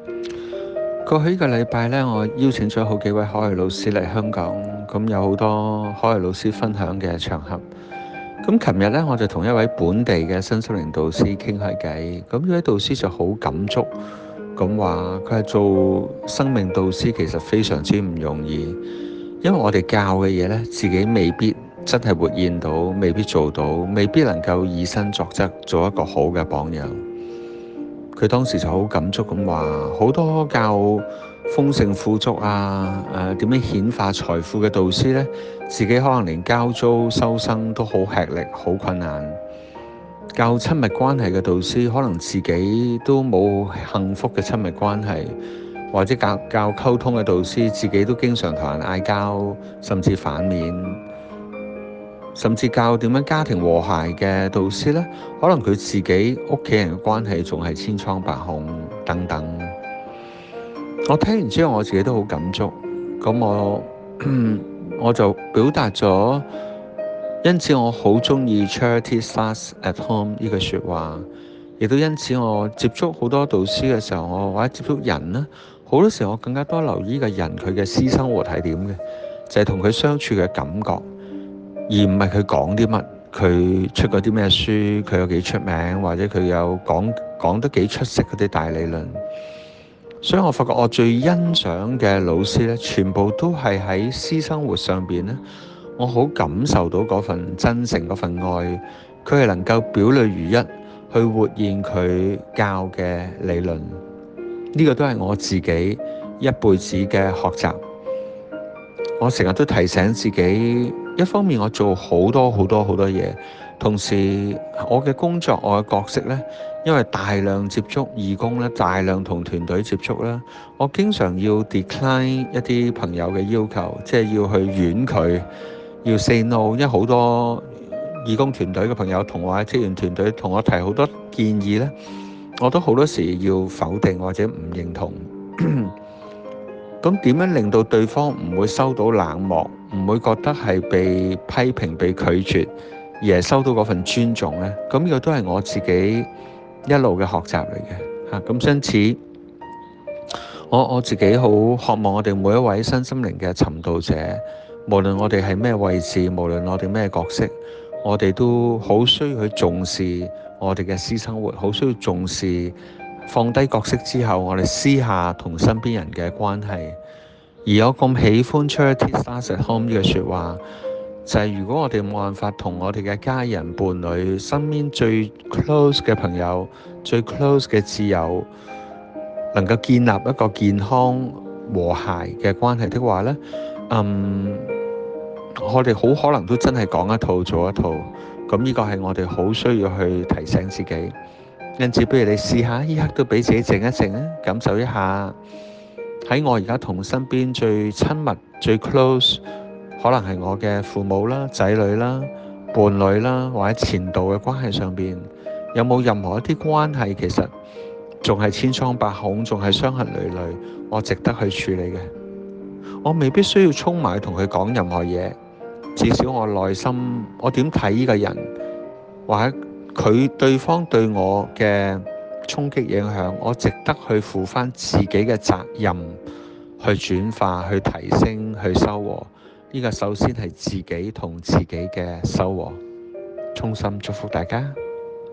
過去呢個禮拜呢，我邀請咗好幾位海外老師嚟香港，咁有好多海外老師分享嘅場合。咁琴日呢，我就同一位本地嘅身心靈導師傾下偈，咁呢位導師就好感觸，咁話佢係做生命導師其實非常之唔容易，因為我哋教嘅嘢呢，自己未必真係活現到，未必做到，未必能夠以身作則，做一個好嘅榜樣。佢當時就好感觸咁話，好多教豐盛富足啊，點樣顯化財富嘅導師呢，自己可能連交租收生都好吃力，好困難。教親密關係嘅導師，可能自己都冇幸福嘅親密關係，或者教溝通嘅導師，自己都經常同人嗌交，甚至反面。甚至教點樣家庭和諧嘅導師呢，可能佢自己屋企人嘅關係仲係千瘡百孔等等。我聽完之後，我自己都好感觸。咁我就表達咗，因此我好鍾意 Charity starts at home 呢句説話，亦都因此我接觸好多導師嘅時候，我或者接觸人呢，好多時候我更加多留意個人佢嘅私生活係點嘅，就係同佢相處嘅感覺。而唔係佢講啲乜，佢出過啲咩書，佢有幾出名，或者佢有講得幾出色嗰啲大理論。所以我發覺我最欣賞嘅老師呢，全部都係喺私生活上邊呢，我好感受到嗰份真誠，嗰份愛，佢係能夠表裏如一去活現佢教嘅理論。呢個都係我自己一輩子嘅學習。我成日都提醒自己，一方面我做好多嘢，同時我嘅工作，我嘅角色呢，因為大量接觸義工咧，大量同團隊接觸啦，我經常要 decline 一啲朋友嘅要求，即係要去婉拒，要 say no，因為好多義工團隊嘅朋友同我喺職員團隊同我提好多建議呢，我都好多時要否定或者唔認同。咁點樣令到對方唔會收到冷漠，唔會覺得係被批評、被拒絕，而係收到嗰份尊重呢？咁呢個都係我自己一路嘅學習嚟嘅嚇。咁因此，我自己好渴望我哋每一位身心靈嘅尋道者，無論我哋係咩位置，無論我哋咩角色，我哋都好需要去重視我哋嘅私生活，好需要重視。放低角色之後，我哋私下同身邊人嘅關係。而我咁喜歡 Charity starts at home 呢句説話，就係如果我哋冇辦法同我哋嘅家人、伴侶、身邊最 close 嘅朋友、最 close 嘅摯友，能夠建立一個健康和諧嘅關係的話呢，我哋好可能都真係講一套做一套。咁呢個係我哋好需要去提醒自己。因此，不如你試下呢刻都俾自己靜一靜啊，感受一下喺我而家同身邊最親密、最 close， 可能係我嘅父母啦、仔女啦、伴侶啦，或者前度嘅關係上邊，有冇任何一啲關係其實仲係千瘡百孔，仲係傷痕累累，我值得去處理嘅。我未必需要衝埋同佢講任何嘢，至少我內心我點睇呢個人，或者對方對我嘅衝擊影響，我值得去負翻自己嘅責任，去轉化、去提升、去收穫。呢個首先係自己同自己嘅收穫。衷心祝福大家。